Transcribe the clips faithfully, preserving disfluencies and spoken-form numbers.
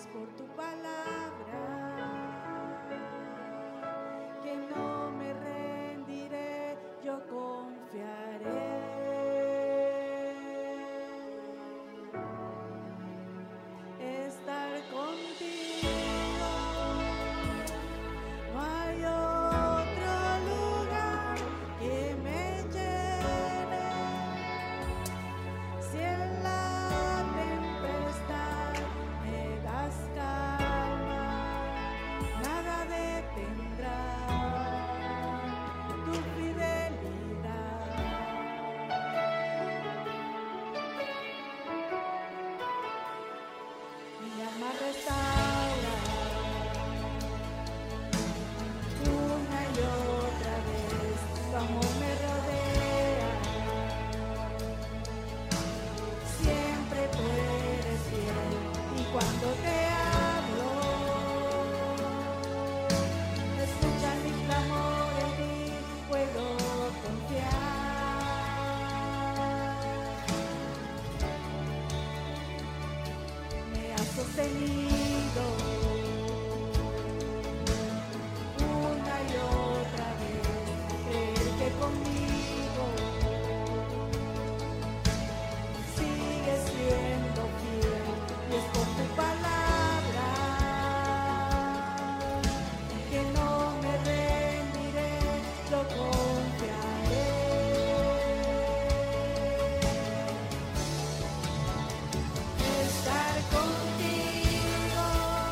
gracias por tu palabra, que no me rendiré, yo confiaré. Estar contigo, no hay otro lugar que me llene. Si en la tempestad me das calma, nada detendrá tu fidelidad. Mi alma restaura una y otra vez, tu amor me rodea, siempre tú eres fiel, y cuando te hablo, escucha mi clamor, en ti puedo confiar. Me has sostenido una y otra vez, creer que conmigo sigues siendo fiel, y es por tu palabra que no me rendiré, yo confiaré. Estar contigo,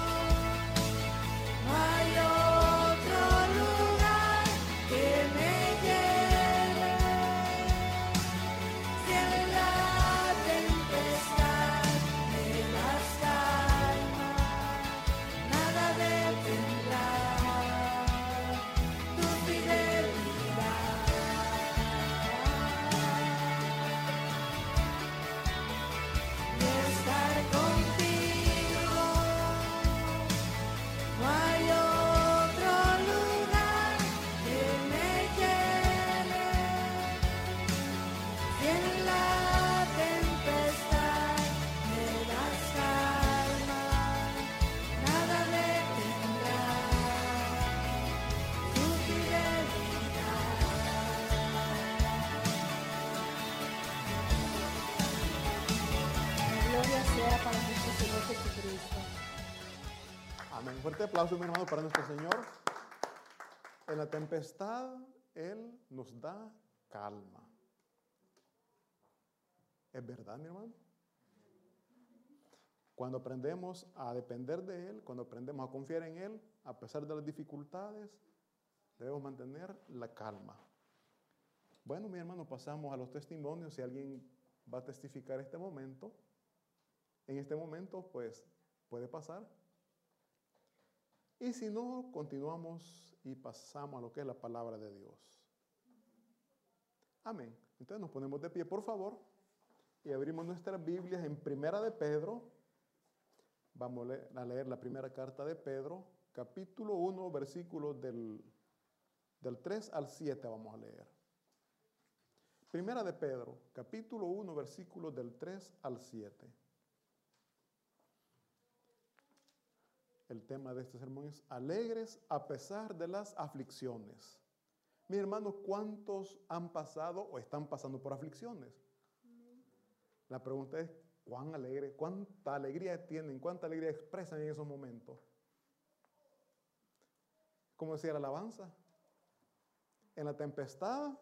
no hay otro lugar que me lleve. Si en la tempestad me das calma, nada detendrá tu fidelidad. Y estar contigo, no hay otro lugar que me llene. Si en la tempestad me das calma, nada detendrá tu fidelidad. Gloria sea para nuestro Señor Jesucristo. Amén. Fuerte aplauso, mi hermano, para nuestro Señor. En la tempestad, Él nos da calma. ¿Es verdad, mi hermano? Cuando aprendemos a depender de Él, cuando aprendemos a confiar en Él, a pesar de las dificultades, debemos mantener la calma. Bueno, mi hermano, pasamos a los testimonios. Si alguien va a testificar este momento, en este momento, pues, puede pasar. Y si no, continuamos y pasamos a lo que es la palabra de Dios. Amén. Entonces nos ponemos de pie, por favor, y abrimos nuestras Biblias en Primera de Pedro. Vamos a leer la primera carta de Pedro, capítulo uno, versículos del, del tres al siete vamos a leer. Primera de Pedro, capítulo uno, versículos del tres al siete. El tema de este sermón es alegres a pesar de las aflicciones. Mis hermanos, ¿cuántos han pasado o están pasando por aflicciones? La pregunta es, ¿cuán alegre, cuánta alegría tienen, cuánta alegría expresan en esos momentos? ¿Cómo decía la alabanza? En la tempestad.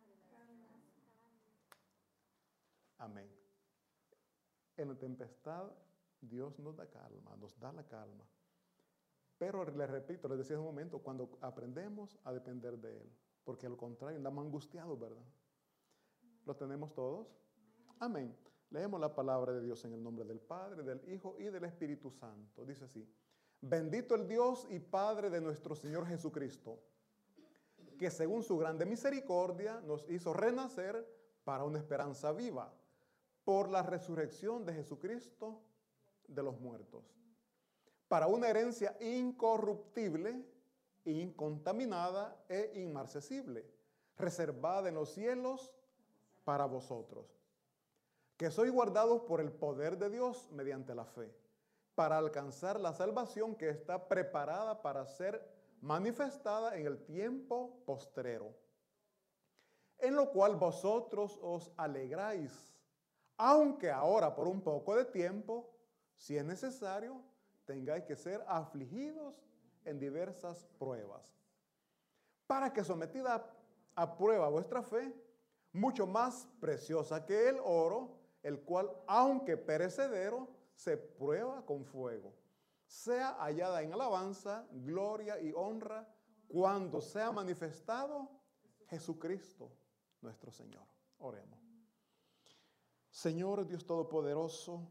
Amén. En la tempestad Dios nos da calma, nos da la calma. Pero les repito, les decía hace un momento, cuando aprendemos a depender de Él, porque al contrario andamos angustiados, ¿verdad? ¿Lo tenemos todos? Amén. Leemos la palabra de Dios en el nombre del Padre, del Hijo y del Espíritu Santo. Dice así: bendito el Dios y Padre de nuestro Señor Jesucristo, que según su grande misericordia nos hizo renacer para una esperanza viva, por la resurrección de Jesucristo de los muertos, para una herencia incorruptible, incontaminada e inmarcesible, reservada en los cielos para vosotros, que sois guardados por el poder de Dios mediante la fe, para alcanzar la salvación que está preparada para ser manifestada en el tiempo postrero, en lo cual vosotros os alegráis, aunque ahora por un poco de tiempo, si es necesario, tengáis que ser afligidos en diversas pruebas, para que sometida a prueba vuestra fe, mucho más preciosa que el oro, el cual, aunque perecedero, se prueba con fuego, sea hallada en alabanza, gloria y honra cuando sea manifestado Jesucristo, nuestro Señor. Oremos. Señor Dios Todopoderoso,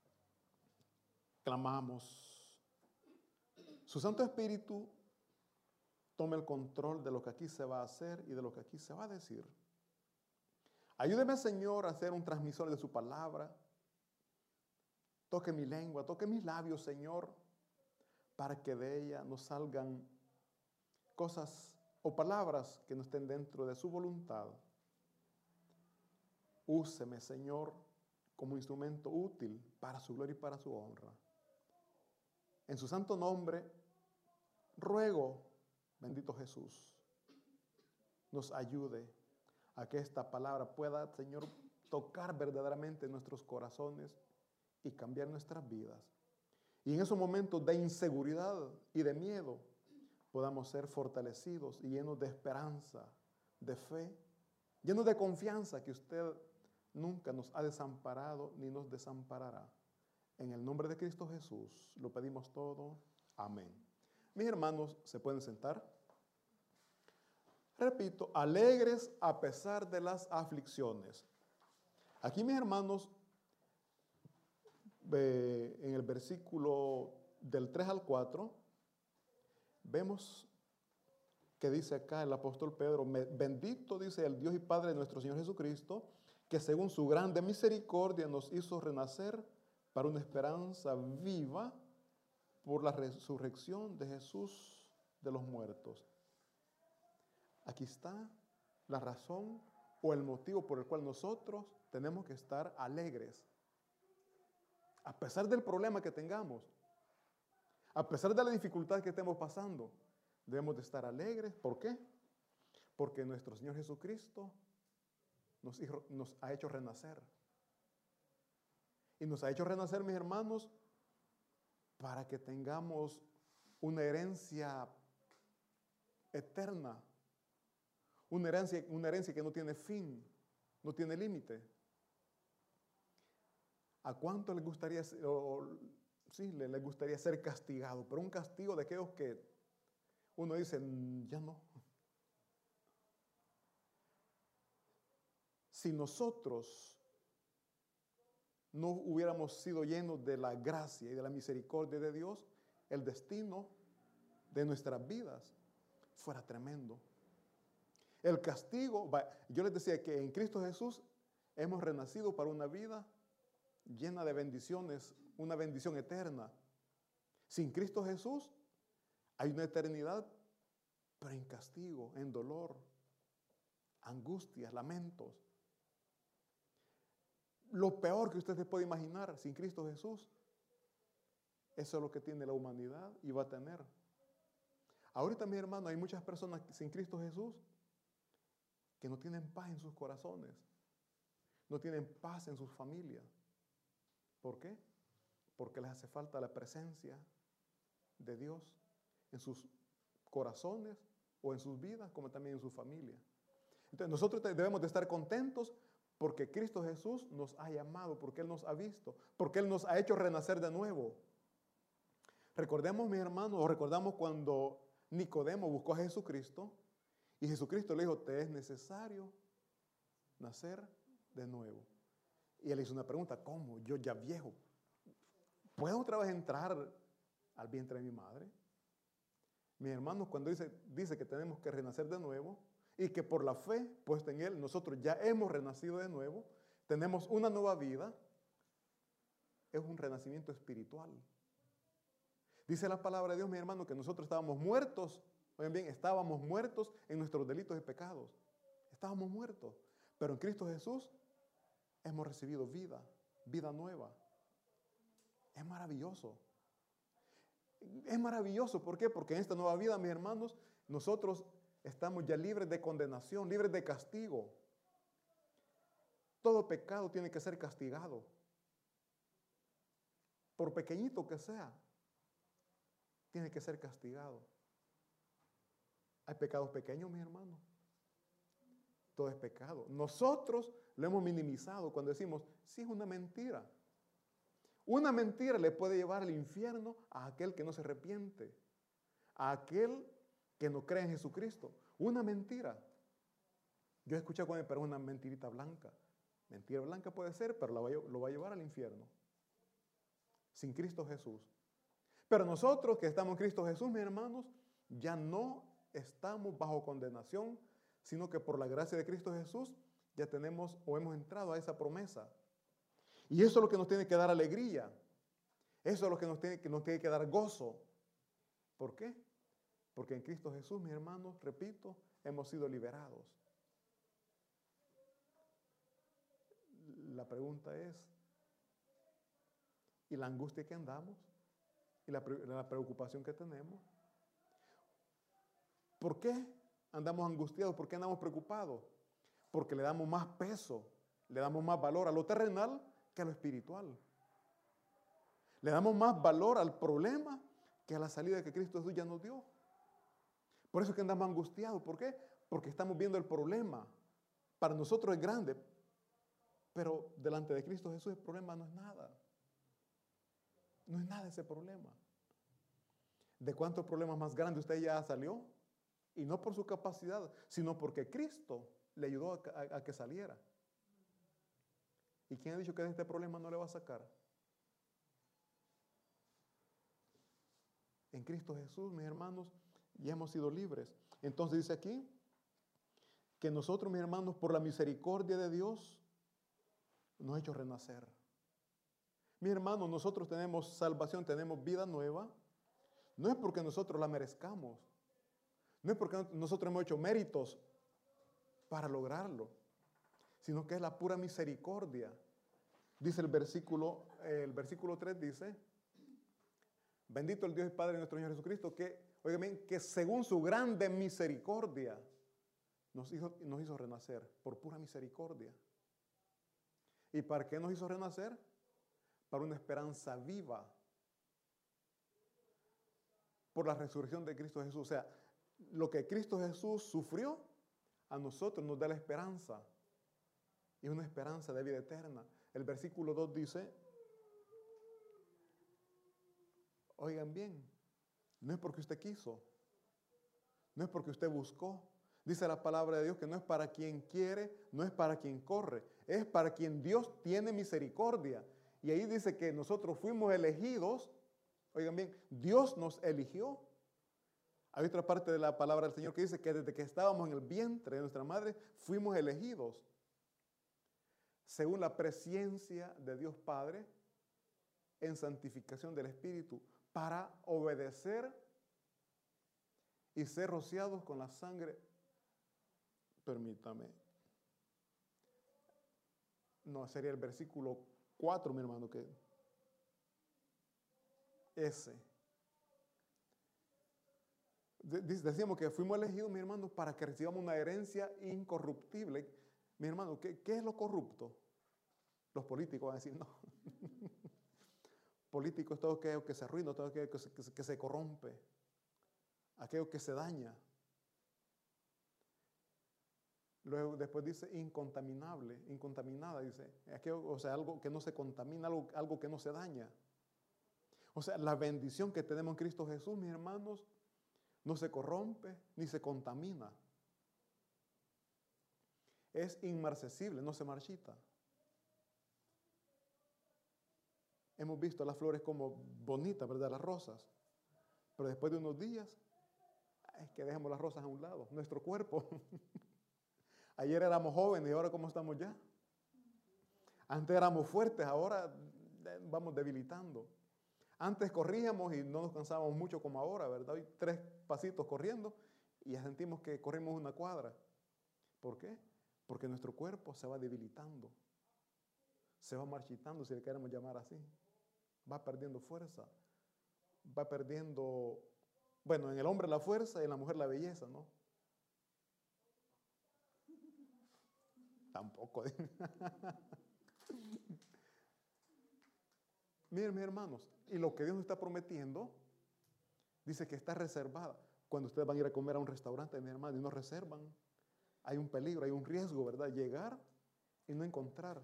clamamos. Su Santo Espíritu tome el control de lo que aquí se va a hacer y de lo que aquí se va a decir. Ayúdeme, Señor, a ser un transmisor de su palabra. Toque mi lengua, toque mis labios, Señor, para que de ella nos salgan cosas o palabras que no estén dentro de su voluntad. Úseme, Señor, como instrumento útil para su gloria y para su honra. En su santo nombre, ruego, bendito Jesús, nos ayude a que esta palabra pueda, Señor, tocar verdaderamente nuestros corazones y cambiar nuestras vidas. Y en esos momentos de inseguridad y de miedo, podamos ser fortalecidos y llenos de esperanza, de fe, llenos de confianza que usted nunca nos ha desamparado ni nos desamparará. En el nombre de Cristo Jesús lo pedimos todo. Amén. Mis hermanos, ¿se pueden sentar? Repito, alegres a pesar de las aflicciones. Aquí, mis hermanos, eh, en el versículo del tres al cuatro, vemos que dice acá el apóstol Pedro: bendito, dice, el Dios y Padre de nuestro Señor Jesucristo, que según su grande misericordia nos hizo renacer para una esperanza viva por la resurrección de Jesús de los muertos. Aquí está la razón o el motivo por el cual nosotros tenemos que estar alegres. A pesar del problema que tengamos, a pesar de la dificultad que estemos pasando, debemos de estar alegres. ¿Por qué? Porque nuestro Señor Jesucristo nos, hizo, nos ha hecho renacer. Y nos ha hecho renacer, mis hermanos, para que tengamos una herencia eterna. Una herencia, una herencia que no tiene fin, no tiene límite. ¿A cuánto les gustaría, o, sí, les, les gustaría ser castigado? Pero un castigo de aquellos que uno dice, ya no. Si nosotros no hubiéramos sido llenos de la gracia y de la misericordia de Dios, el destino de nuestras vidas fuera tremendo. El castigo, yo les decía que en Cristo Jesús hemos renacido para una vida llena de bendiciones, una bendición eterna. Sin Cristo Jesús hay una eternidad, pero en castigo, en dolor, angustias, lamentos. Lo peor que usted se puede imaginar sin Cristo Jesús, eso es lo que tiene la humanidad y va a tener. Ahorita, mi hermano, hay muchas personas sin Cristo Jesús que no tienen paz en sus corazones, no tienen paz en sus familias. ¿Por qué? Porque les hace falta la presencia de Dios en sus corazones o en sus vidas, como también en su familia. Entonces nosotros debemos de estar contentos porque Cristo Jesús nos ha llamado, porque Él nos ha visto, porque Él nos ha hecho renacer de nuevo. Recordemos, mis hermanos, o recordamos cuando Nicodemo buscó a Jesucristo y Jesucristo le dijo, te es necesario nacer de nuevo. Y él hizo una pregunta, ¿cómo? Yo ya viejo, ¿puedo otra vez entrar al vientre de mi madre? Mis hermanos, cuando dice, dice que tenemos que renacer de nuevo y que por la fe puesta en Él, nosotros ya hemos renacido de nuevo, tenemos una nueva vida, es un renacimiento espiritual. Dice la palabra de Dios, mis hermanos, que nosotros estábamos muertos, oigan bien, estábamos muertos en nuestros delitos y pecados. Estábamos muertos, pero en Cristo Jesús hemos recibido vida, vida nueva. Es maravilloso. Es maravilloso. ¿Por qué? Porque en esta nueva vida, mis hermanos, nosotros estamos ya libres de condenación, libres de castigo. Todo pecado tiene que ser castigado, por pequeñito que sea, tiene que ser castigado. Hay pecados pequeños, mis hermanos. Todo es pecado. Nosotros lo hemos minimizado cuando decimos, sí, es una mentira. Una mentira le puede llevar al infierno a aquel que no se arrepiente, a aquel que no cree en Jesucristo. Una mentira. Yo he escuchado con él, pero es una mentirita blanca. Mentira blanca puede ser, pero lo va, a, lo va a llevar al infierno. Sin Cristo Jesús. Pero nosotros que estamos en Cristo Jesús, mis hermanos, ya no estamos bajo condenación, sino que por la gracia de Cristo Jesús ya tenemos o hemos entrado a esa promesa. Y eso es lo que nos tiene que dar alegría. Eso es lo que nos tiene, que nos tiene que dar gozo. ¿Por qué? Porque en Cristo Jesús, mis hermanos, repito, hemos sido liberados. La pregunta es, ¿y la angustia que andamos? ¿Y la, la preocupación que tenemos? ¿Por qué andamos angustiados? ¿Por qué andamos preocupados? Porque le damos más peso, le damos más valor a lo terrenal que a lo espiritual. Le damos más valor al problema que a la salida que Cristo Jesús ya nos dio. Por eso es que andamos angustiados. ¿Por qué? Porque estamos viendo el problema. Para nosotros es grande, pero delante de Cristo Jesús el problema no es nada. No es nada ese problema. ¿De cuántos problemas más grandes usted ya salió? Y no por su capacidad, sino porque Cristo le ayudó a, a, a que saliera. ¿Y quién ha dicho que de este problema no le va a sacar? En Cristo Jesús, mis hermanos, ya hemos sido libres. Entonces dice aquí que nosotros, mis hermanos, por la misericordia de Dios, nos ha hecho renacer. Mis hermanos, nosotros tenemos salvación, tenemos vida nueva. No es porque nosotros la merezcamos. No es porque nosotros hemos hecho méritos para lograrlo, sino que es la pura misericordia. Dice el versículo, el versículo tres dice, bendito el Dios y Padre de nuestro Señor Jesucristo, que, oigan bien, que según su grande misericordia nos hizo, nos hizo renacer, por pura misericordia. ¿Y para qué nos hizo renacer? Para una esperanza viva, por la resurrección de Cristo Jesús. O sea, lo que Cristo Jesús sufrió, a nosotros nos da la esperanza. Y una esperanza de vida eterna. El versículo dos dice, oigan bien, no es porque usted quiso, no es porque usted buscó. Dice la palabra de Dios que no es para quien quiere, no es para quien corre, es para quien Dios tiene misericordia. Y ahí dice que nosotros fuimos elegidos. Oigan bien, Dios nos eligió. Hay otra parte de la palabra del Señor que dice que desde que estábamos en el vientre de nuestra madre, fuimos elegidos. Según la presciencia de Dios Padre, en santificación del Espíritu, para obedecer y ser rociados con la sangre. Permítame. No, sería el versículo cuatro, mi hermano, que ese. Decíamos que fuimos elegidos, mi hermano, para que recibamos una herencia incorruptible. Mi hermano, ¿qué, qué es lo corrupto? Los políticos van a decir, no. Político es todo aquello que se arruina, todo aquello que se, que se, que se corrompe, aquello que se daña. Luego después dice incontaminable, incontaminada, dice, aquello, o sea, algo que no se contamina, algo, algo que no se daña. O sea, la bendición que tenemos en Cristo Jesús, mis hermanos, no se corrompe ni se contamina. Es inmarcesible, no se marchita. Hemos visto las flores como bonitas, ¿verdad? Las rosas. Pero después de unos días, es que dejemos las rosas a un lado. Nuestro cuerpo. Ayer éramos jóvenes y ahora ¿cómo estamos ya? Antes éramos fuertes, ahora vamos debilitando. Antes corríamos y no nos cansábamos mucho como ahora, ¿verdad? Hoy tres pasitos corriendo y ya sentimos que corrimos una cuadra. ¿Por qué? Porque nuestro cuerpo se va debilitando. Se va marchitando, si le queremos llamar así. Va perdiendo fuerza. va perdiendo, bueno, en el hombre la fuerza y en la mujer la belleza, ¿no? Tampoco. Miren, mis hermanos, y lo que Dios nos está prometiendo, dice que está reservada. Cuando ustedes van a ir a comer a un restaurante, mis hermanos, y no reservan, hay un peligro, hay un riesgo, ¿verdad? Llegar y no encontrar.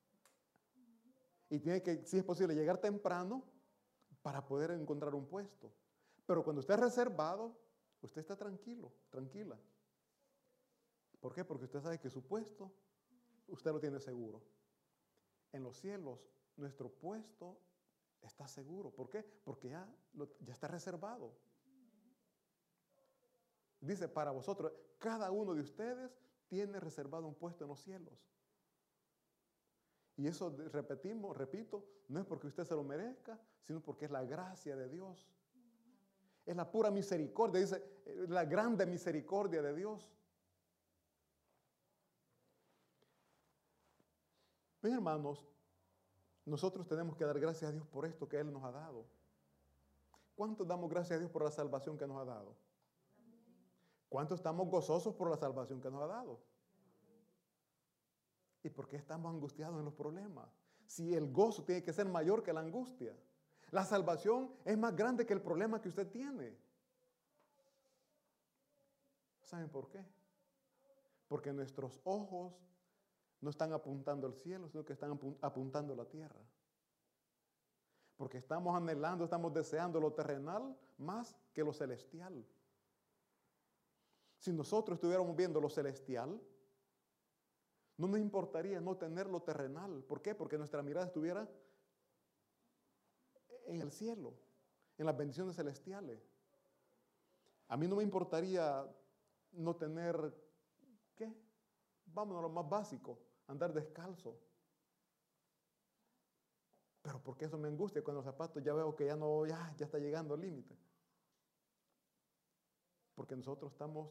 Y tiene que, si es posible, llegar temprano para poder encontrar un puesto. Pero cuando usted es reservado, usted está tranquilo, tranquila. ¿Por qué? Porque usted sabe que su puesto, usted lo tiene seguro. En los cielos, nuestro puesto está seguro. ¿Por qué? Porque ya, lo, ya está reservado. Dice, para vosotros, cada uno de ustedes tiene reservado un puesto en los cielos. Y eso, repetimos, repito, no es porque usted se lo merezca, sino porque es la gracia de Dios. Es la pura misericordia, dice, la grande misericordia de Dios. Mis hermanos, nosotros tenemos que dar gracias a Dios por esto que Él nos ha dado. ¿Cuántos damos gracias a Dios por la salvación que nos ha dado? ¿Cuántos estamos gozosos por la salvación que nos ha dado? ¿Y por qué estamos angustiados en los problemas? Si el gozo tiene que ser mayor que la angustia. La salvación es más grande que el problema que usted tiene. ¿Saben por qué? Porque nuestros ojos no están apuntando al cielo, sino que están apuntando a la tierra. Porque estamos anhelando, estamos deseando lo terrenal más que lo celestial. Si nosotros estuviéramos viendo lo celestial, no nos importaría no tener lo terrenal. ¿Por qué? Porque nuestra mirada estuviera en el cielo, en las bendiciones celestiales. A mí no me importaría no tener, ¿qué? Vámonos a lo más básico, andar descalzo. Pero porque eso me angustia cuando los zapatos ya veo que ya no, ya, ya está llegando al límite. Porque nosotros estamos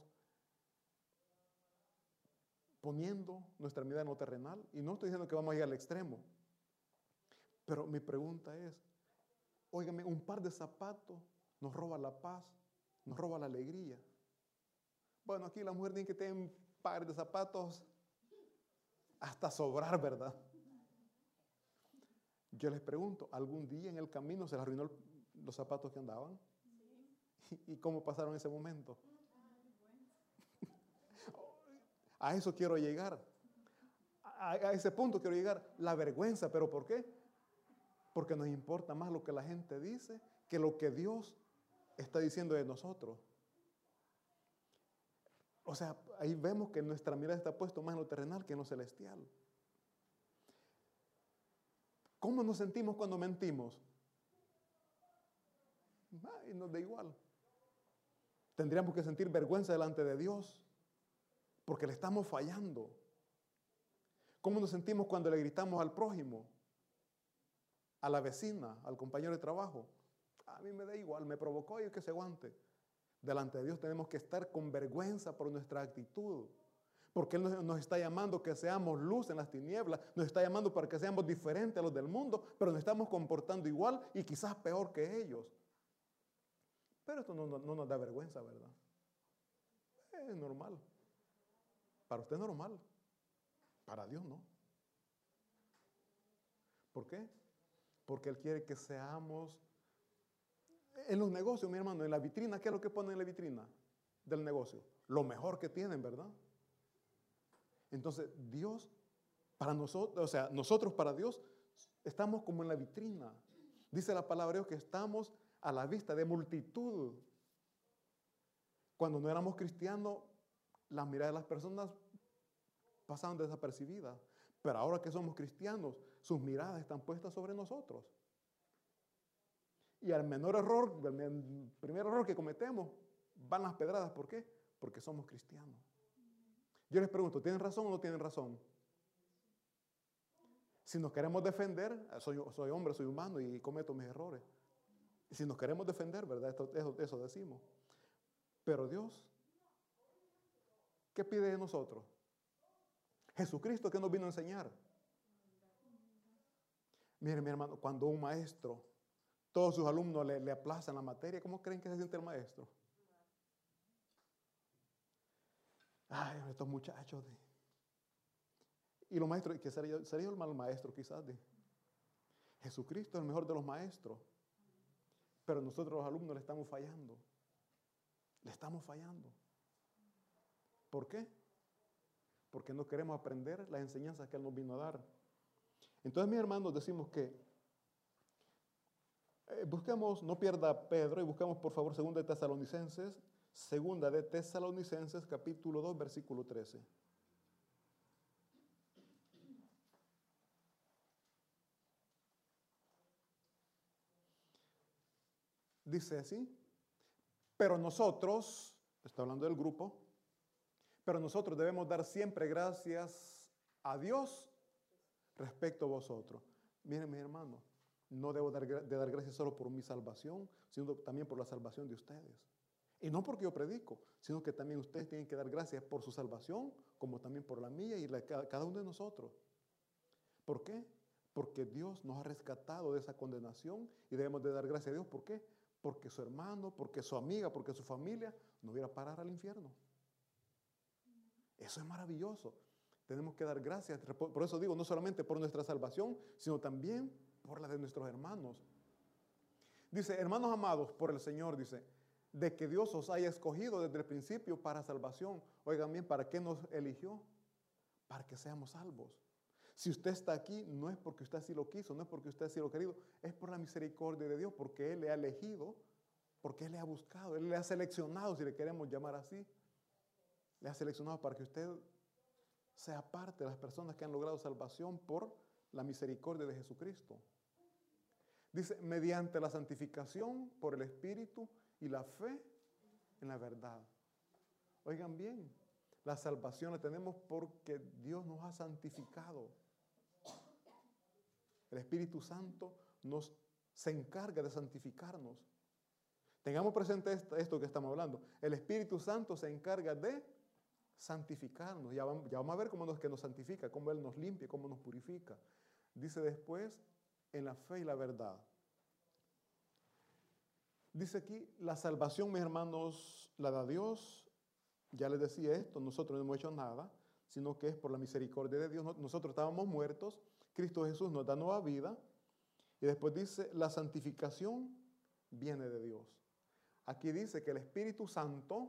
poniendo nuestra mirada en lo terrenal. Y no estoy diciendo que vamos a ir al extremo. Pero mi pregunta es, óigame, un par de zapatos nos roba la paz, nos roba la alegría. Bueno, aquí la mujer tiene que tener un par de zapatos hasta sobrar, ¿verdad? Yo les pregunto, ¿algún día en el camino se les arruinó los zapatos que andaban? Sí. ¿Y cómo pasaron ese momento? A eso quiero llegar. A, a ese punto quiero llegar. La vergüenza, ¿pero por qué? Porque nos importa más lo que la gente dice que lo que Dios está diciendo de nosotros. O sea, ahí vemos que nuestra mirada está puesta más en lo terrenal que en lo celestial. ¿Cómo nos sentimos cuando mentimos? Ay, nos da igual. Tendríamos que sentir vergüenza delante de Dios porque le estamos fallando. ¿Cómo nos sentimos cuando le gritamos al prójimo, a la vecina, al compañero de trabajo? A mí me da igual, me provocó y que se aguante. Delante de Dios tenemos que estar con vergüenza por nuestra actitud. Porque Él nos, nos está llamando que seamos luz en las tinieblas, nos está llamando para que seamos diferentes a los del mundo, pero nos estamos comportando igual y quizás peor que ellos. Pero esto no, no, no nos da vergüenza, ¿verdad? Es normal. Para usted es normal, para Dios no. ¿Por qué? Porque Él quiere que seamos, en los negocios, mi hermano, en la vitrina, ¿qué es lo que ponen en la vitrina del negocio? Lo mejor que tienen, ¿verdad? Entonces, Dios, para nosotros, o sea, nosotros para Dios, estamos como en la vitrina. Dice la palabra de Dios que estamos a la vista de multitud. Cuando no éramos cristianos, las miradas de las personas pasaban desapercibidas. Pero ahora que somos cristianos, sus miradas están puestas sobre nosotros. Y al menor error, el primer error que cometemos, van las pedradas. ¿Por qué? Porque somos cristianos. Yo les pregunto, ¿tienen razón o no tienen razón? Si nos queremos defender, soy, soy hombre, soy humano y cometo mis errores. Si nos queremos defender, ¿verdad? Esto, eso, eso decimos. Pero Dios, ¿qué pide de nosotros? Jesucristo, ¿qué nos vino a enseñar? Miren, mi hermano, cuando un maestro todos sus alumnos le, le aplazan la materia. ¿Cómo creen que se siente el maestro? Ay, estos muchachos. De... Y los maestros, que sería, sería el mal maestro quizás. De... Jesucristo es el mejor de los maestros. Pero nosotros los alumnos le estamos fallando. Le estamos fallando. ¿Por qué? Porque no queremos aprender las enseñanzas que Él nos vino a dar. Entonces, mis hermanos, decimos que eh, busquemos, no pierda Pedro, y busquemos por favor segunda de Tesalonicenses, segunda de Tesalonicenses, capítulo dos, versículo trece. Dice así, pero nosotros, está hablando del grupo, pero nosotros debemos dar siempre gracias a Dios respecto a vosotros. Miren, mis hermanos, no debo dar, de dar gracias solo por mi salvación, sino también por la salvación de ustedes. Y no porque yo predico, sino que también ustedes tienen que dar gracias por su salvación, como también por la mía y la de cada uno de nosotros. ¿Por qué? Porque Dios nos ha rescatado de esa condenación y debemos de dar gracias a Dios. ¿Por qué? Porque su hermano, porque su amiga, porque su familia no hubiera parar al infierno. Eso es maravilloso. Tenemos que dar gracias. Por eso digo, no solamente por nuestra salvación, sino también por la de nuestros hermanos. Dice, hermanos amados por el Señor, dice, de que Dios os haya escogido desde el principio para salvación. Oigan bien, ¿para qué nos eligió? Para que seamos salvos. Si usted está aquí, no es porque usted así lo quiso, no es porque usted así lo ha querido, es por la misericordia de Dios, porque Él le ha elegido, porque Él le ha buscado, Él le ha seleccionado, si le queremos llamar así. Le ha seleccionado para que usted sea parte de las personas que han logrado salvación por la misericordia de Jesucristo. Dice, mediante la santificación por el Espíritu y la fe en la verdad. Oigan bien, la salvación la tenemos porque Dios nos ha santificado. El Espíritu Santo nos se encarga de santificarnos. Tengamos presente esto, esto que estamos hablando. El Espíritu Santo se encarga de santificarnos. Ya vamos, ya vamos a ver cómo nos, que nos santifica, cómo Él nos limpia, cómo nos purifica. Dice después, en la fe y la verdad. Dice aquí, la salvación, mis hermanos, la da Dios. Ya les decía esto, nosotros no hemos hecho nada, sino que es por la misericordia de Dios. Nosotros estábamos muertos, Cristo Jesús nos da nueva vida. Y después dice, la santificación viene de Dios. Aquí dice que el Espíritu Santo,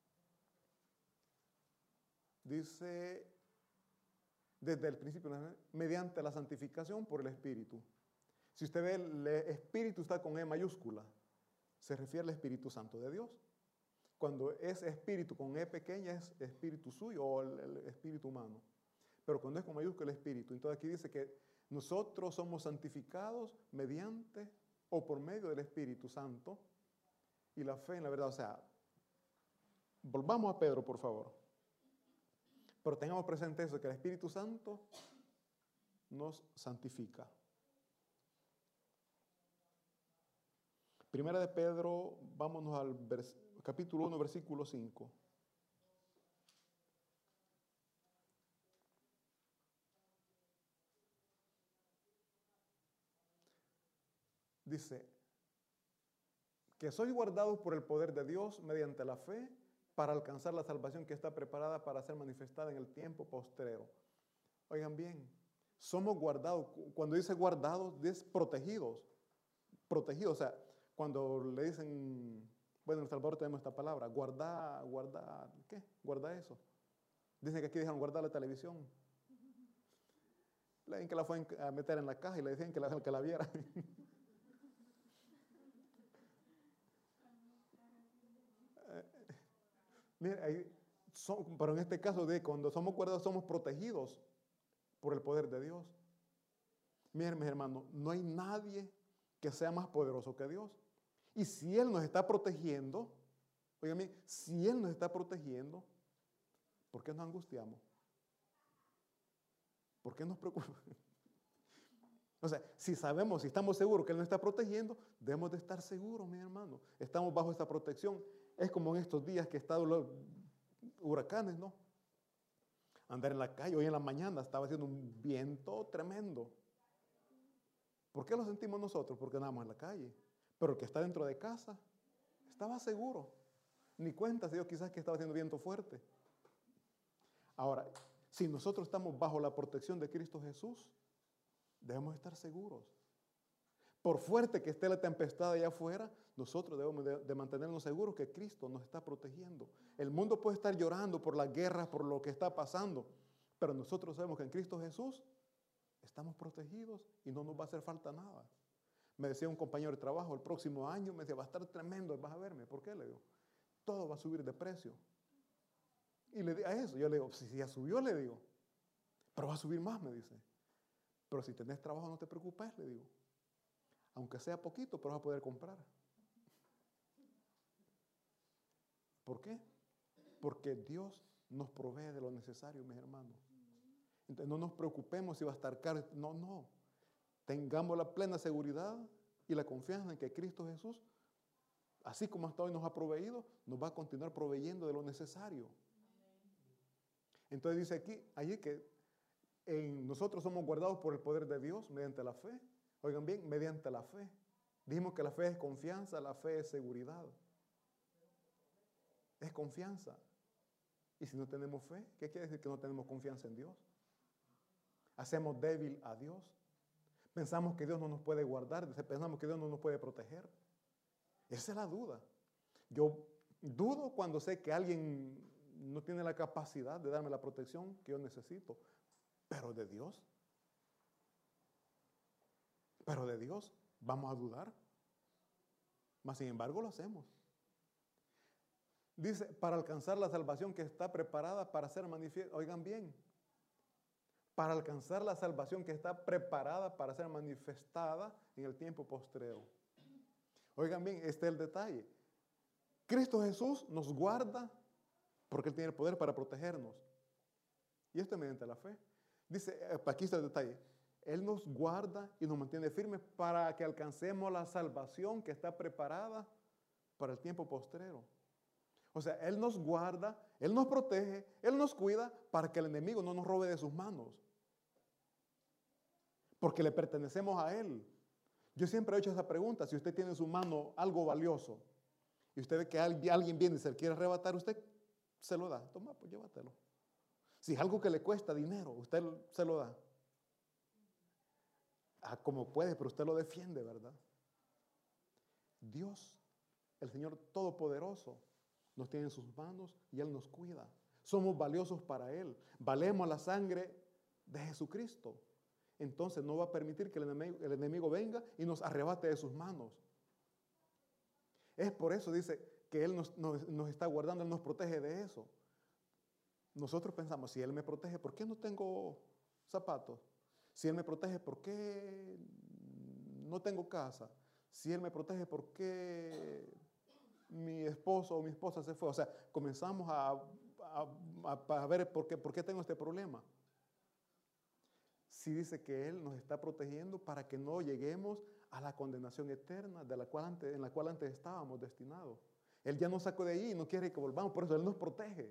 dice, desde el principio, mediante la santificación por el Espíritu. Si usted ve, el Espíritu está con E mayúscula, se refiere al Espíritu Santo de Dios. Cuando es Espíritu con E pequeña, es Espíritu suyo o el, el Espíritu humano. Pero cuando es con mayúscula, el Espíritu. Entonces aquí dice que nosotros somos santificados mediante o por medio del Espíritu Santo y la fe en la verdad. O sea, volvamos a Pedro, por favor. Pero tengamos presente eso, que el Espíritu Santo nos santifica. Primera de Pedro, vámonos al vers- capítulo uno, versículo cinco. Dice, que sois guardados por el poder de Dios mediante la fe para alcanzar la salvación que está preparada para ser manifestada en el tiempo postrero. Oigan bien, somos guardados. Cuando dice guardados, es protegidos. Protegidos, o sea, cuando le dicen, bueno, en El Salvador tenemos esta palabra, guarda, guarda, ¿qué? Guarda eso. Dicen que aquí dijeron guardar la televisión. Le dicen que la fue a meter en la caja y le decían que la, que la viera. Mira, ahí son, pero en este caso, de cuando somos guardados, somos protegidos por el poder de Dios. Miren, mis hermanos, no hay nadie que sea más poderoso que Dios. Y si Él nos está protegiendo, oigan, si Él nos está protegiendo, ¿por qué nos angustiamos? ¿Por qué nos preocupamos? O sea, si sabemos, si estamos seguros que Él nos está protegiendo, debemos de estar seguros, mis hermanos. Estamos bajo esta protección. Es como en estos días que han estado los huracanes, ¿no? Andar en la calle, hoy en la mañana estaba haciendo un viento tremendo. ¿Por qué lo sentimos nosotros? Porque andamos en la calle. Pero el que está dentro de casa estaba seguro. Ni cuenta se dio quizás que estaba haciendo viento fuerte. Ahora, si nosotros estamos bajo la protección de Cristo Jesús, debemos estar seguros. Por fuerte que esté la tempestad allá afuera, nosotros debemos de, de mantenernos seguros que Cristo nos está protegiendo. El mundo puede estar llorando por las guerras, por lo que está pasando, pero nosotros sabemos que en Cristo Jesús estamos protegidos y no nos va a hacer falta nada. Me decía un compañero de trabajo, el próximo año, me decía, va a estar tremendo, vas a verme. ¿Por qué? Le digo, todo va a subir de precio. Y le digo a eso, yo le digo, si ya subió, le digo, pero va a subir más, me dice. Pero si tenés trabajo, no te preocupes, le digo. Aunque sea poquito, pero vas a poder comprar. ¿Por qué? Porque Dios nos provee de lo necesario, mis hermanos. Entonces no nos preocupemos si va a estar caro. No, no. Tengamos la plena seguridad y la confianza en que Cristo Jesús, así como hasta hoy nos ha proveído, nos va a continuar proveyendo de lo necesario. Entonces dice aquí, allí que en nosotros somos guardados por el poder de Dios mediante la fe. Oigan bien, mediante la fe. Dijimos que la fe es confianza, la fe es seguridad. Es confianza. Y si no tenemos fe, ¿qué quiere decir que no tenemos confianza en Dios? Hacemos débil a Dios. Pensamos que Dios no nos puede guardar, pensamos que Dios no nos puede proteger. Esa es la duda. Yo dudo cuando sé que alguien no tiene la capacidad de darme la protección que yo necesito. Pero de Dios. Pero de Dios, ¿vamos a dudar? Mas sin embargo lo hacemos. Dice, para alcanzar la salvación que está preparada para ser manifiesta. Oigan bien. Para alcanzar la salvación que está preparada para ser manifestada en el tiempo postrero. Oigan bien, este es el detalle. Cristo Jesús nos guarda porque Él tiene el poder para protegernos. Y esto es mediante la fe. Dice, aquí está el detalle. Él nos guarda y nos mantiene firmes para que alcancemos la salvación que está preparada para el tiempo postrero. O sea, Él nos guarda, Él nos protege, Él nos cuida para que el enemigo no nos robe de sus manos. Porque le pertenecemos a Él. Yo siempre he hecho esa pregunta, si usted tiene en su mano algo valioso y usted ve que alguien viene y se le quiere arrebatar, usted se lo da. Toma, pues llévatelo. Si es algo que le cuesta dinero, usted se lo da. Ah, como puede, pero usted lo defiende, ¿verdad? Dios, el Señor Todopoderoso, nos tiene en sus manos y Él nos cuida. Somos valiosos para Él. Valemos la sangre de Jesucristo. Entonces no va a permitir que el enemigo, el enemigo venga y nos arrebate de sus manos. Es por eso, dice, que Él nos, nos, nos está guardando, Él nos protege de eso. Nosotros pensamos, si Él me protege, ¿por qué no tengo zapatos? Si Él me protege, ¿por qué no tengo casa? Si Él me protege, ¿por qué mi esposo o mi esposa se fue? O sea, comenzamos a, a, a, a ver por qué, por qué tengo este problema. Sí dice que Él nos está protegiendo para que no lleguemos a la condenación eterna de la cual antes, en la cual antes estábamos destinados. Él ya nos sacó de ahí y no quiere que volvamos, por eso Él nos protege.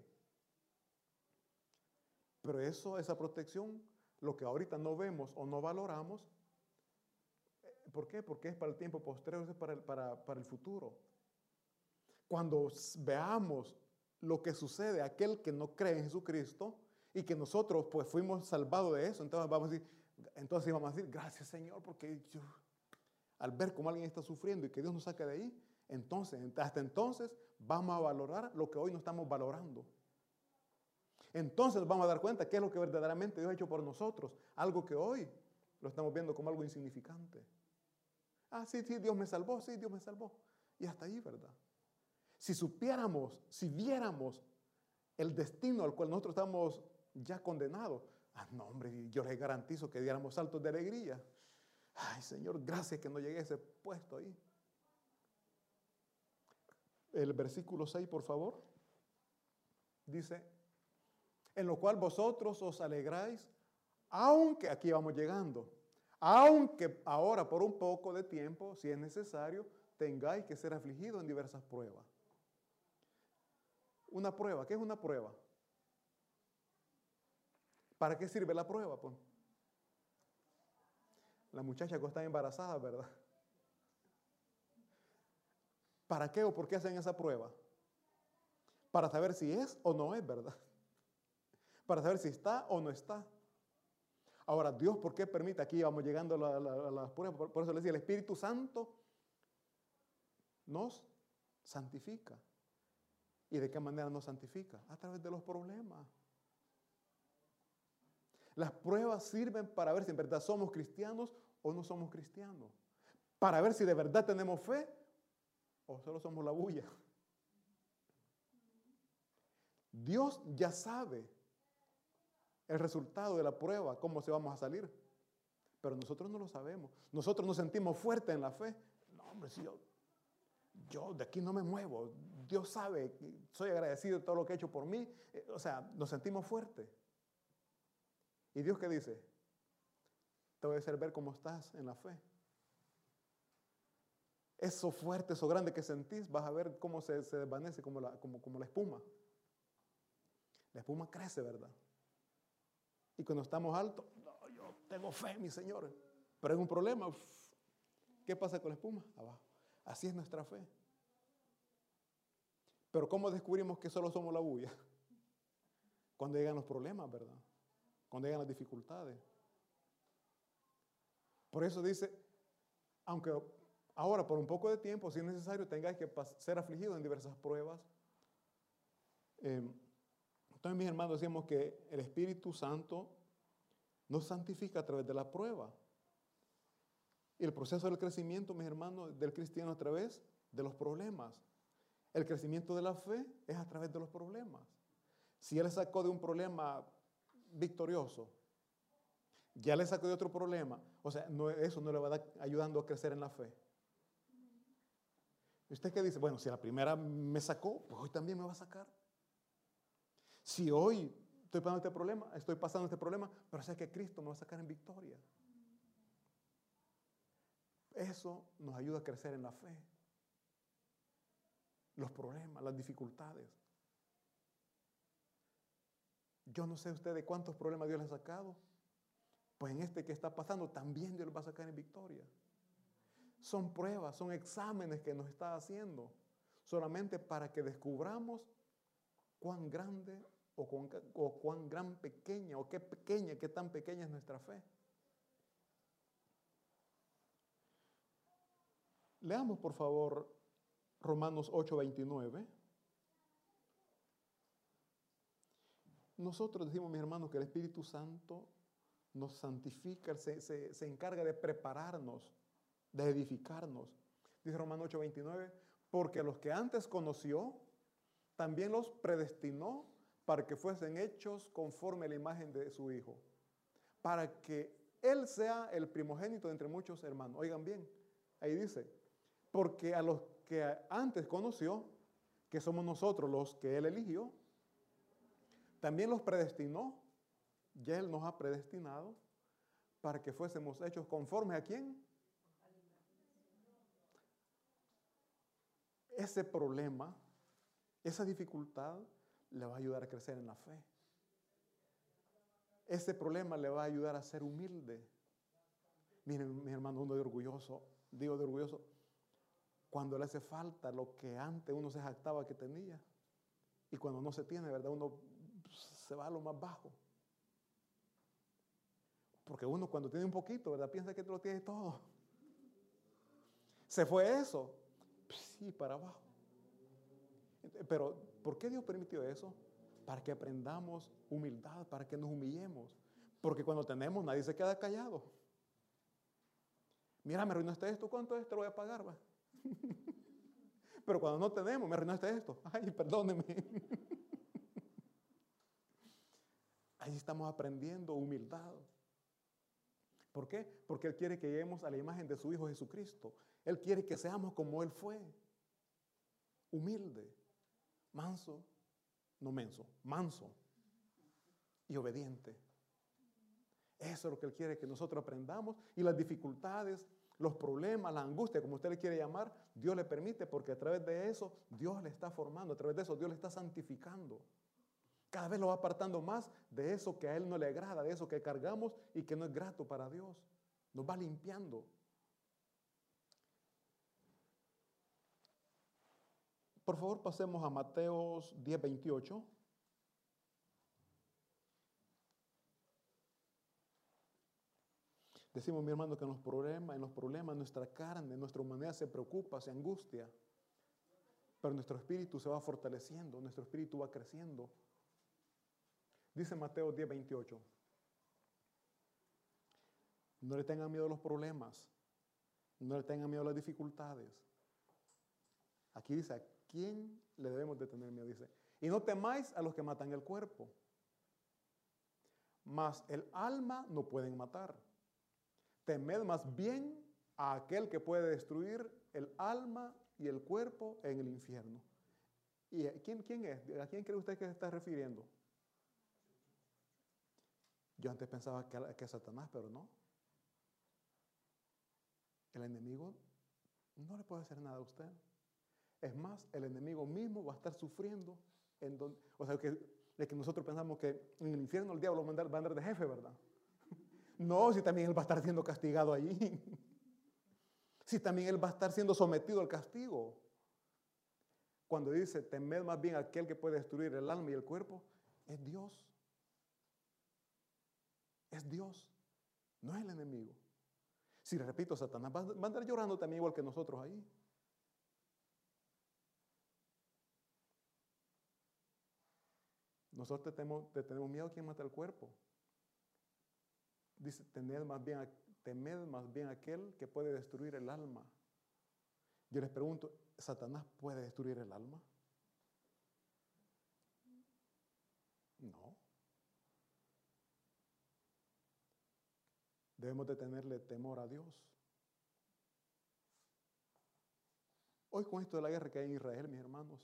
Pero eso, esa protección, lo que ahorita no vemos o no valoramos, ¿por qué? Porque es para el tiempo postrero, es para el, para, para el futuro. Cuando veamos lo que sucede a aquel que no cree en Jesucristo y que nosotros pues fuimos salvados de eso, entonces vamos a decir, entonces vamos a decir, gracias Señor, porque yo, al ver cómo alguien está sufriendo y que Dios nos saca de ahí, entonces, hasta entonces vamos a valorar lo que hoy no estamos valorando. Entonces vamos a dar cuenta qué es lo que verdaderamente Dios ha hecho por nosotros, algo que hoy lo estamos viendo como algo insignificante. Ah, sí, sí, Dios me salvó, sí, Dios me salvó. Y hasta ahí, ¿verdad? Si supiéramos, si viéramos el destino al cual nosotros estamos ya condenados, ah, no, hombre, yo les garantizo que diéramos saltos de alegría. Ay, Señor, gracias que no llegué a ese puesto ahí. El versículo seis, por favor, dice, en lo cual vosotros os alegráis, aunque, aquí vamos llegando, aunque ahora por un poco de tiempo, si es necesario, tengáis que ser afligidos en diversas pruebas. Una prueba, ¿qué es una prueba? ¿Para qué sirve la prueba? Pues? La muchacha que está embarazada, ¿verdad? ¿Para qué o por qué hacen esa prueba? Para saber si es o no es, ¿verdad? Para saber si está o no está. Ahora, Dios, ¿por qué permite? Aquí vamos llegando a las la, la pruebas. Por, por eso le decía, el Espíritu Santo nos santifica. ¿Y de qué manera nos santifica? A través de los problemas. Las pruebas sirven para ver si en verdad somos cristianos o no somos cristianos. Para ver si de verdad tenemos fe o solo somos la bulla. Dios ya sabe el resultado de la prueba, cómo se vamos a salir. Pero nosotros no lo sabemos. Nosotros nos sentimos fuertes en la fe. No, hombre, si yo, yo de aquí no me muevo. Dios sabe, soy agradecido de todo lo que ha hecho por mí. O sea, nos sentimos fuertes. ¿Y Dios qué dice? Te voy a hacer ver cómo estás en la fe. Eso fuerte, eso grande que sentís, vas a ver cómo se, se desvanece como la, como, como la espuma. La espuma crece, ¿verdad? Y cuando estamos altos, no, yo tengo fe, mi Señor. Pero hay un problema. Uf, ¿qué pasa con la espuma? Abajo. Así es nuestra fe. Pero ¿cómo descubrimos que solo somos la bulla? Cuando llegan los problemas, ¿verdad? Cuando llegan las dificultades. Por eso dice, aunque ahora por un poco de tiempo, si es necesario, tengáis que ser afligidos en diversas pruebas. Eh, entonces, mis hermanos, decíamos que el Espíritu Santo nos santifica a través de la prueba. Y el proceso del crecimiento, mis hermanos, del cristiano a través de los problemas. El crecimiento de la fe es a través de los problemas. Si Él sacó de un problema victorioso, ya le sacó de otro problema, o sea, no, eso no le va a dar, ayudando a crecer en la fe. ¿Y usted qué dice? Bueno, si la primera me sacó, pues hoy también me va a sacar. Si hoy estoy pasando este problema, estoy pasando este problema, pero sé que Cristo me va a sacar en victoria. Eso nos ayuda a crecer en la fe. Los problemas, las dificultades. Yo no sé usted de cuántos problemas Dios le ha sacado. Pues en este que está pasando también Dios lo va a sacar en victoria. Son pruebas, son exámenes que nos está haciendo solamente para que descubramos cuán grande o cuán, o cuán gran pequeña o qué pequeña, qué tan pequeña es nuestra fe. Leamos por favor Romanos ocho veintinueve. Nosotros decimos, mis hermanos, que el Espíritu Santo nos santifica, se, se, se encarga de prepararnos, de edificarnos. Dice Romanos ocho veintinueve, porque a los que antes conoció, también los predestinó para que fuesen hechos conforme a la imagen de su Hijo, para que Él sea el primogénito de entre muchos hermanos. Oigan bien, ahí dice, porque a los que antes conoció, que somos nosotros los que Él eligió, también los predestinó, ya Él nos ha predestinado para que fuésemos hechos conforme a quién. Ese problema, esa dificultad le va a ayudar a crecer en la fe. Ese problema le va a ayudar a ser humilde. Miren, mi hermano, uno de orgulloso, digo de orgulloso, cuando le hace falta lo que antes uno se jactaba que tenía. Y cuando no se tiene, ¿verdad? Uno se va a lo más bajo. Porque uno cuando tiene un poquito, ¿verdad? Piensa que lo tiene todo. ¿Se fue eso? Sí, para abajo. Pero, ¿por qué Dios permitió eso? Para que aprendamos humildad, para que nos humillemos. Porque cuando tenemos, nadie se queda callado. Mira, me arruinaste esto, ¿cuánto es? Te lo voy a pagar, va. Pero cuando no tenemos, me arruinaste esto. Ay, perdóneme. Ahí estamos aprendiendo humildad. ¿Por qué? Porque Él quiere que lleguemos a la imagen de su Hijo Jesucristo. Él quiere que seamos como Él fue. Humilde, manso, no menso, manso y obediente. Eso es lo que Él quiere que nosotros aprendamos. Y las dificultades, los problemas, la angustia, como usted le quiere llamar, Dios le permite porque a través de eso Dios le está formando, a través de eso Dios le está santificando. Cada vez lo va apartando más de eso que a Él no le agrada, de eso que cargamos y que no es grato para Dios. Nos va limpiando. Por favor, pasemos a Mateo diez veintiocho. Decimos, mi hermano, que en los problemas, en los problemas nuestra carne, nuestra humanidad se preocupa, se angustia, pero nuestro espíritu se va fortaleciendo, nuestro espíritu va creciendo. Dice Mateo diez veintiocho, no le tengan miedo a los problemas, no le tengan miedo a las dificultades. Aquí dice, ¿a quién le debemos de tener miedo? Dice, y no temáis a los que matan el cuerpo, mas el alma no pueden matar. Temed más bien a aquel que puede destruir el alma y el cuerpo en el infierno. ¿Y quién, quién es? ¿A quién cree usted que se está refiriendo? Yo antes pensaba que, que a Satanás, pero no. El enemigo no le puede hacer nada a usted. Es más, el enemigo mismo va a estar sufriendo. En donde, o sea, que, de que nosotros pensamos que en el infierno el diablo va a andar, va a andar de jefe, ¿verdad? No, si también él va a estar siendo castigado allí. Si también él va a estar siendo sometido al castigo. Cuando dice, temed más bien a aquel que puede destruir el alma y el cuerpo, es Dios. Es Dios, no es el enemigo. Si repito, Satanás va a andar llorando también igual que nosotros ahí. Nosotros tenemos, tenemos miedo a quien mata el cuerpo. Dice, temed más bien a temed más bien aquel que puede destruir el alma. Yo les pregunto, ¿Satanás puede destruir el alma? No. Debemos de tenerle temor a Dios. Hoy con esto de la guerra que hay en Israel, mis hermanos,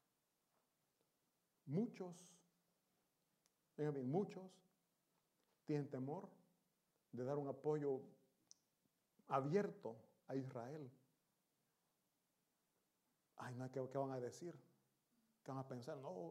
muchos, bien, muchos tienen temor de dar un apoyo abierto a Israel. Ay, no, ¿qué, qué van a decir? ¿Qué van a pensar? No.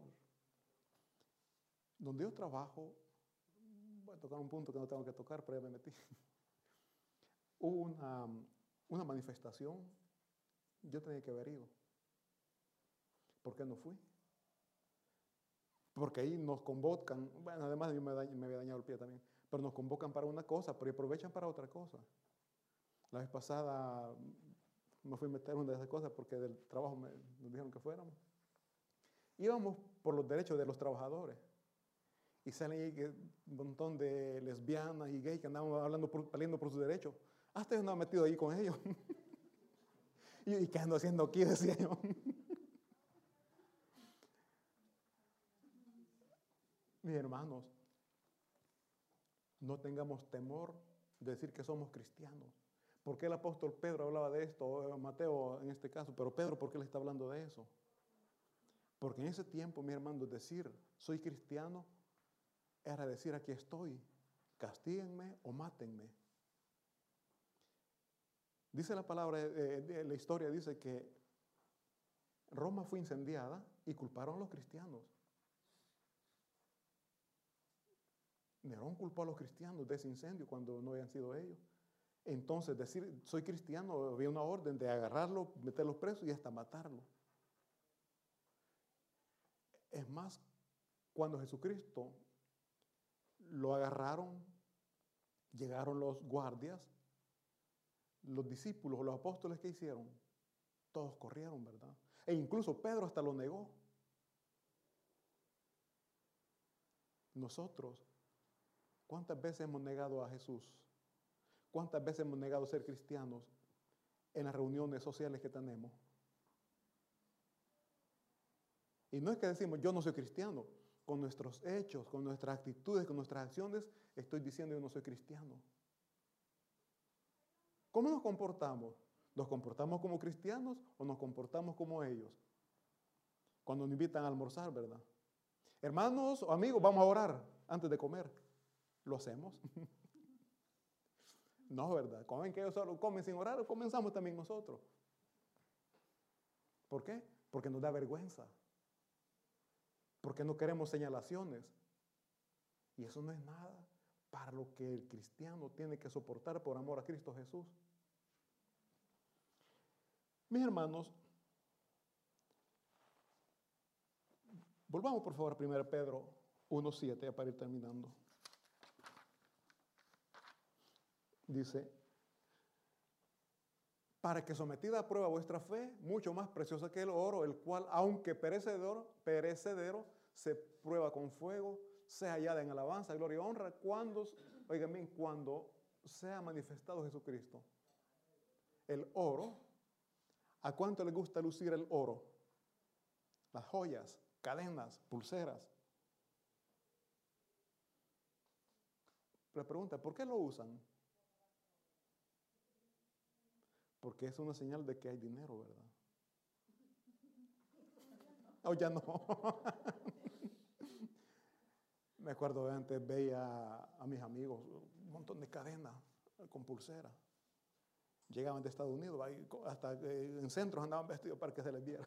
Donde yo trabajo, voy a tocar un punto que no tengo que tocar, pero ya me metí. Hubo una, una manifestación, yo tenía que haber ido. ¿Por qué no fui? Porque ahí nos convocan, bueno, además yo me, daño, me había dañado el pie también, pero nos convocan para una cosa, pero aprovechan para otra cosa. La vez pasada me fui a meter en una de esas cosas porque del trabajo me, nos dijeron que fuéramos. Íbamos por los derechos de los trabajadores. Y salen ahí un montón de lesbianas y gays que andaban hablando por, peleando por sus derechos. Hasta yo andaba metido ahí con ellos. y, ¿Y qué ando haciendo aquí? Decía yo. Mis hermanos, no tengamos temor de decir que somos cristianos. ¿Por qué el apóstol Pedro hablaba de esto? Mateo en este caso, pero Pedro, ¿por qué le está hablando de eso? Porque en ese tiempo, mis hermanos, decir soy cristiano era decir aquí estoy, castíguenme o mátenme. Dice la palabra, eh, de la historia dice que Roma fue incendiada y culparon a los cristianos. Nerón culpó a los cristianos de ese incendio cuando no habían sido ellos. Entonces decir soy cristiano, había una orden de agarrarlo, meterlo preso y hasta matarlo. Es más, cuando Jesucristo lo agarraron, llegaron los guardias, los discípulos, los apóstoles, ¿qué hicieron? Todos corrieron, ¿verdad? E incluso Pedro hasta lo negó. Nosotros, ¿cuántas veces hemos negado a Jesús? ¿Cuántas veces hemos negado ser cristianos en las reuniones sociales que tenemos? Y no es que decimos, yo no soy cristiano. Con nuestros hechos, con nuestras actitudes, con nuestras acciones, estoy diciendo yo no soy cristiano. ¿Cómo nos comportamos? ¿Nos comportamos como cristianos o nos comportamos como ellos? Cuando nos invitan a almorzar, ¿verdad? Hermanos o amigos, vamos a orar antes de comer. ¿Lo hacemos? No, ¿verdad? ¿Comen que ellos solo comen sin orar o comenzamos también nosotros? ¿Por qué? Porque nos da vergüenza. Porque no queremos señalaciones. Y eso no es nada para lo que el cristiano tiene que soportar por amor a Cristo Jesús. Mis hermanos, Volvamos por favor a primero Pedro uno siete para ir terminando. Dice, para que sometida a prueba vuestra fe, mucho más preciosa que el oro, el cual, aunque perecedero, perecedero, se prueba con fuego, sea hallada en alabanza, gloria y honra, cuando, oigan bien, cuando sea manifestado Jesucristo. El oro, ¿a cuánto le gusta lucir el oro? Las joyas, cadenas, pulseras. La pregunta, ¿por qué lo usan? Porque es una señal de que hay dinero, ¿verdad? O ya no. Me acuerdo de antes, veía a mis amigos un montón de cadenas con pulseras. Llegaban de Estados Unidos, hasta en centros andaban vestidos para que se les viera.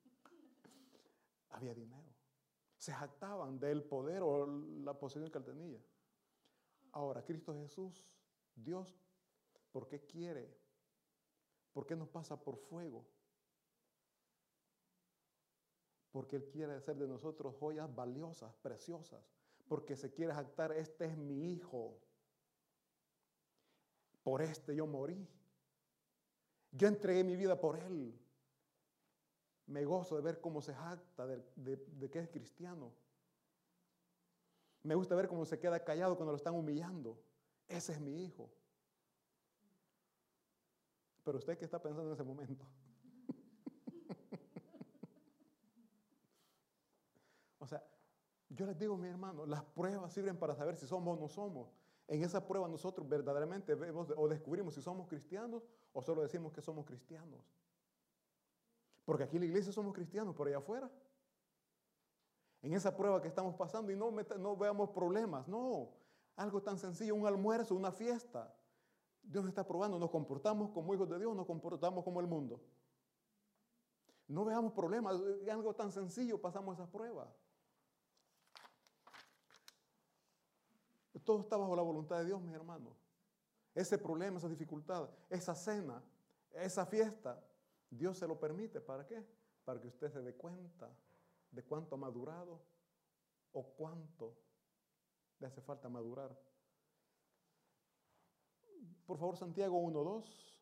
Había dinero. Se jactaban del poder o la posición que él tenía. Ahora, Cristo Jesús, Dios, ¿por qué quiere? ¿Por qué nos pasa por fuego? Porque Él quiere hacer de nosotros joyas valiosas, preciosas. Porque se quiere jactar, este es mi hijo. Por este yo morí. Yo entregué mi vida por Él. Me gozo de ver cómo se jacta de, de, de que es cristiano. Me gusta ver cómo se queda callado cuando lo están humillando. Ese es mi hijo. Pero usted, ¿qué está pensando en ese momento? O sea, yo les digo, mi hermano, las pruebas sirven para saber si somos o no somos. En esa prueba nosotros verdaderamente vemos o descubrimos si somos cristianos o solo decimos que somos cristianos. Porque aquí en la iglesia somos cristianos, por allá afuera. En esa prueba que estamos pasando y no, no veamos problemas, no. Algo tan sencillo, un almuerzo, una fiesta. Dios nos está probando, nos comportamos como hijos de Dios, nos comportamos como el mundo. No veamos problemas, es algo tan sencillo, pasamos esa prueba. Todo está bajo la voluntad de Dios, mis hermanos. Ese problema, esa dificultad, esa cena, esa fiesta, Dios se lo permite. ¿Para qué? Para que usted se dé cuenta de cuánto ha madurado o cuánto le hace falta madurar. Por favor, Santiago uno dos.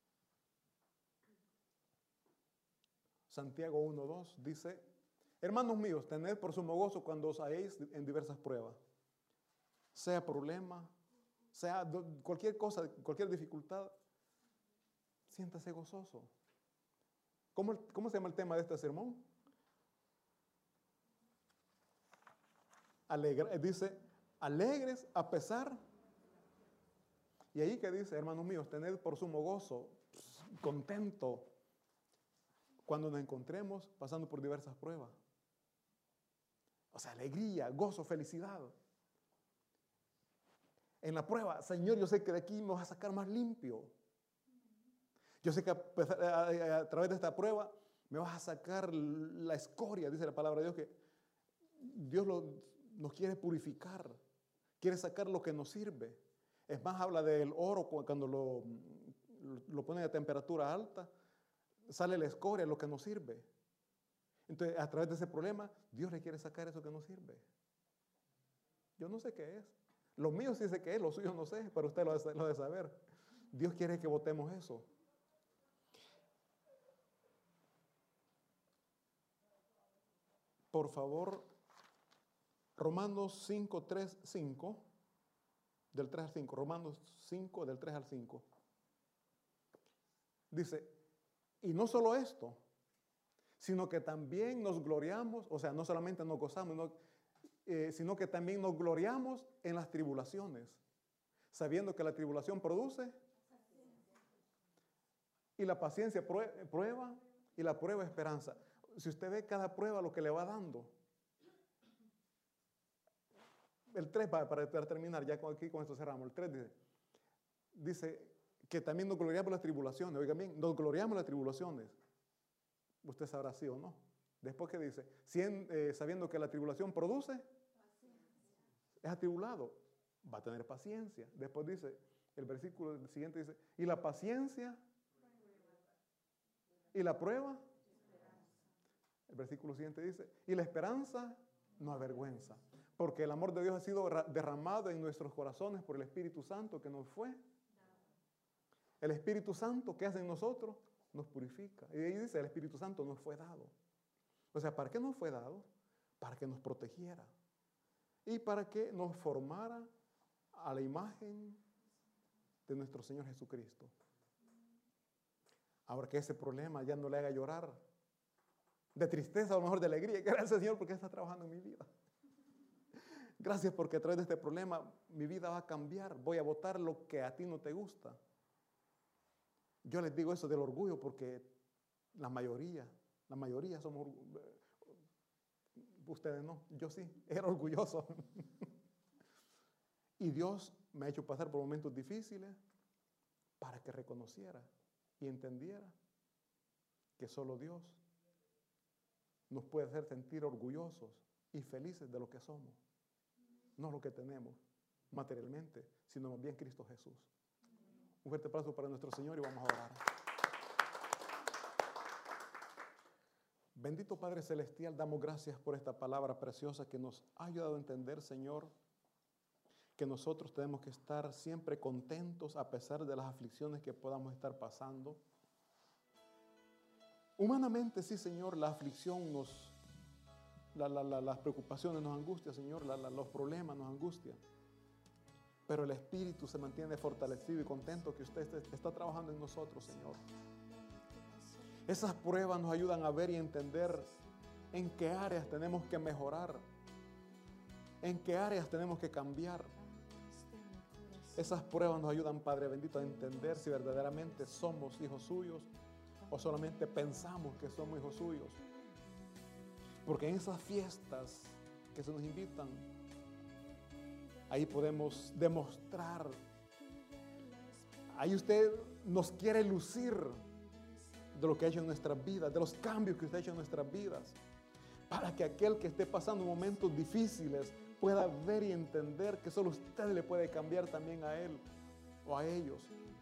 Santiago uno dos dice, hermanos míos, tened por sumo gozo cuando os halléis en diversas pruebas. Sea problema, sea cualquier cosa, cualquier dificultad, siéntase gozoso. ¿Cómo, cómo se llama el tema de este sermón? Alegre, dice, alegres a pesar. Y ahí que dice, hermanos míos, tened por sumo gozo, contento, cuando nos encontremos pasando por diversas pruebas. O sea, alegría, gozo, felicidad. En la prueba, Señor, yo sé que de aquí me vas a sacar más limpio. Yo sé que a, a, a, a través de esta prueba me vas a sacar la escoria, dice la palabra de Dios, que Dios lo, nos quiere purificar, quiere sacar lo que nos sirve. Es más, habla del oro cuando lo, lo pone a temperatura alta, sale la escoria, lo que nos sirve. Entonces, a través de ese problema, Dios le quiere sacar eso que nos sirve. Yo no sé qué es. Lo mío sí sé qué es, lo suyo no sé, pero usted lo debe saber. Dios quiere que votemos eso. Por favor, Romanos cinco, tres, cinco, del tres al cinco, Romanos cinco, del tres al cinco. Dice, y no solo esto, sino que también nos gloriamos, o sea, no solamente nos gozamos, no, eh, sino que también nos gloriamos en las tribulaciones, sabiendo que la tribulación produce y la paciencia prueba y la prueba esperanza. Si usted ve cada prueba lo que le va dando. El tres, para, para terminar, ya aquí con esto cerramos. El tres dice, dice que también nos gloriamos en las tribulaciones. Oigan bien, nos gloriamos en las tribulaciones. Usted sabrá sí o no. Después que dice, eh, sabiendo que la tribulación produce, es atribulado, va a tener paciencia. Después dice, el versículo siguiente dice, y la paciencia y la prueba. El versículo siguiente dice, y la esperanza no avergüenza, porque el amor de Dios ha sido derramado en nuestros corazones por el Espíritu Santo que nos fue. El Espíritu Santo que hace en nosotros nos purifica. Y ahí dice, el Espíritu Santo nos fue dado. O sea, ¿para qué nos fue dado? Para que nos protegiera y para que nos formara a la imagen de nuestro Señor Jesucristo. Ahora, que ese problema ya no le haga llorar de tristeza o a lo mejor de alegría. Gracias, Señor, porque está trabajando en mi vida. Gracias porque a través de este problema mi vida va a cambiar. Voy a votar lo que a ti no te gusta. Yo les digo eso del orgullo porque la mayoría, la mayoría somos, ustedes no, yo sí, era orgulloso. Y Dios me ha hecho pasar por momentos difíciles para que reconociera y entendiera que solo Dios nos puede hacer sentir orgullosos y felices de lo que somos. No lo que tenemos materialmente, sino más bien Cristo Jesús. Un fuerte aplauso para nuestro Señor y vamos a orar. Bendito Padre Celestial, damos gracias por esta palabra preciosa que nos ha ayudado a entender, Señor, que nosotros tenemos que estar siempre contentos a pesar de las aflicciones que podamos estar pasando. Humanamente, sí, Señor, la aflicción nos, la, la, la, las preocupaciones nos angustian, Señor, la, la, los problemas nos angustian. Pero el Espíritu se mantiene fortalecido y contento que usted está trabajando en nosotros, Señor. Esas pruebas nos ayudan a ver y entender en qué áreas tenemos que mejorar, en qué áreas tenemos que cambiar. Esas pruebas nos ayudan, Padre bendito, a entender si verdaderamente somos hijos suyos o solamente pensamos que somos hijos suyos. Porque en esas fiestas que se nos invitan, ahí podemos demostrar, ahí usted nos quiere lucir de lo que ha hecho en nuestras vidas, de los cambios que usted ha hecho en nuestras vidas, para que aquel que esté pasando momentos difíciles pueda ver y entender que solo usted le puede cambiar también a él o a ellos.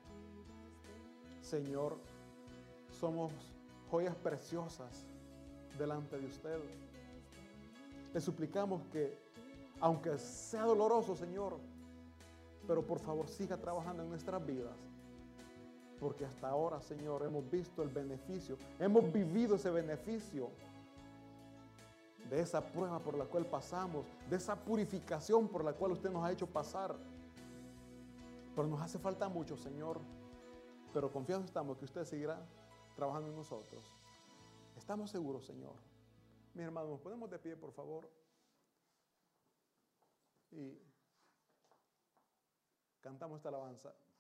Señor, somos joyas preciosas delante de usted. Le suplicamos que, aunque sea doloroso, Señor, pero por favor siga trabajando en nuestras vidas, porque hasta ahora, Señor, hemos visto el beneficio, hemos vivido ese beneficio de esa prueba por la cual pasamos, de esa purificación por la cual usted nos ha hecho pasar. Pero nos hace falta mucho, Señor, pero confiados estamos que usted seguirá trabajando en nosotros. Estamos seguros, Señor. Mis hermanos, nos ponemos de pie, por favor, y cantamos esta alabanza.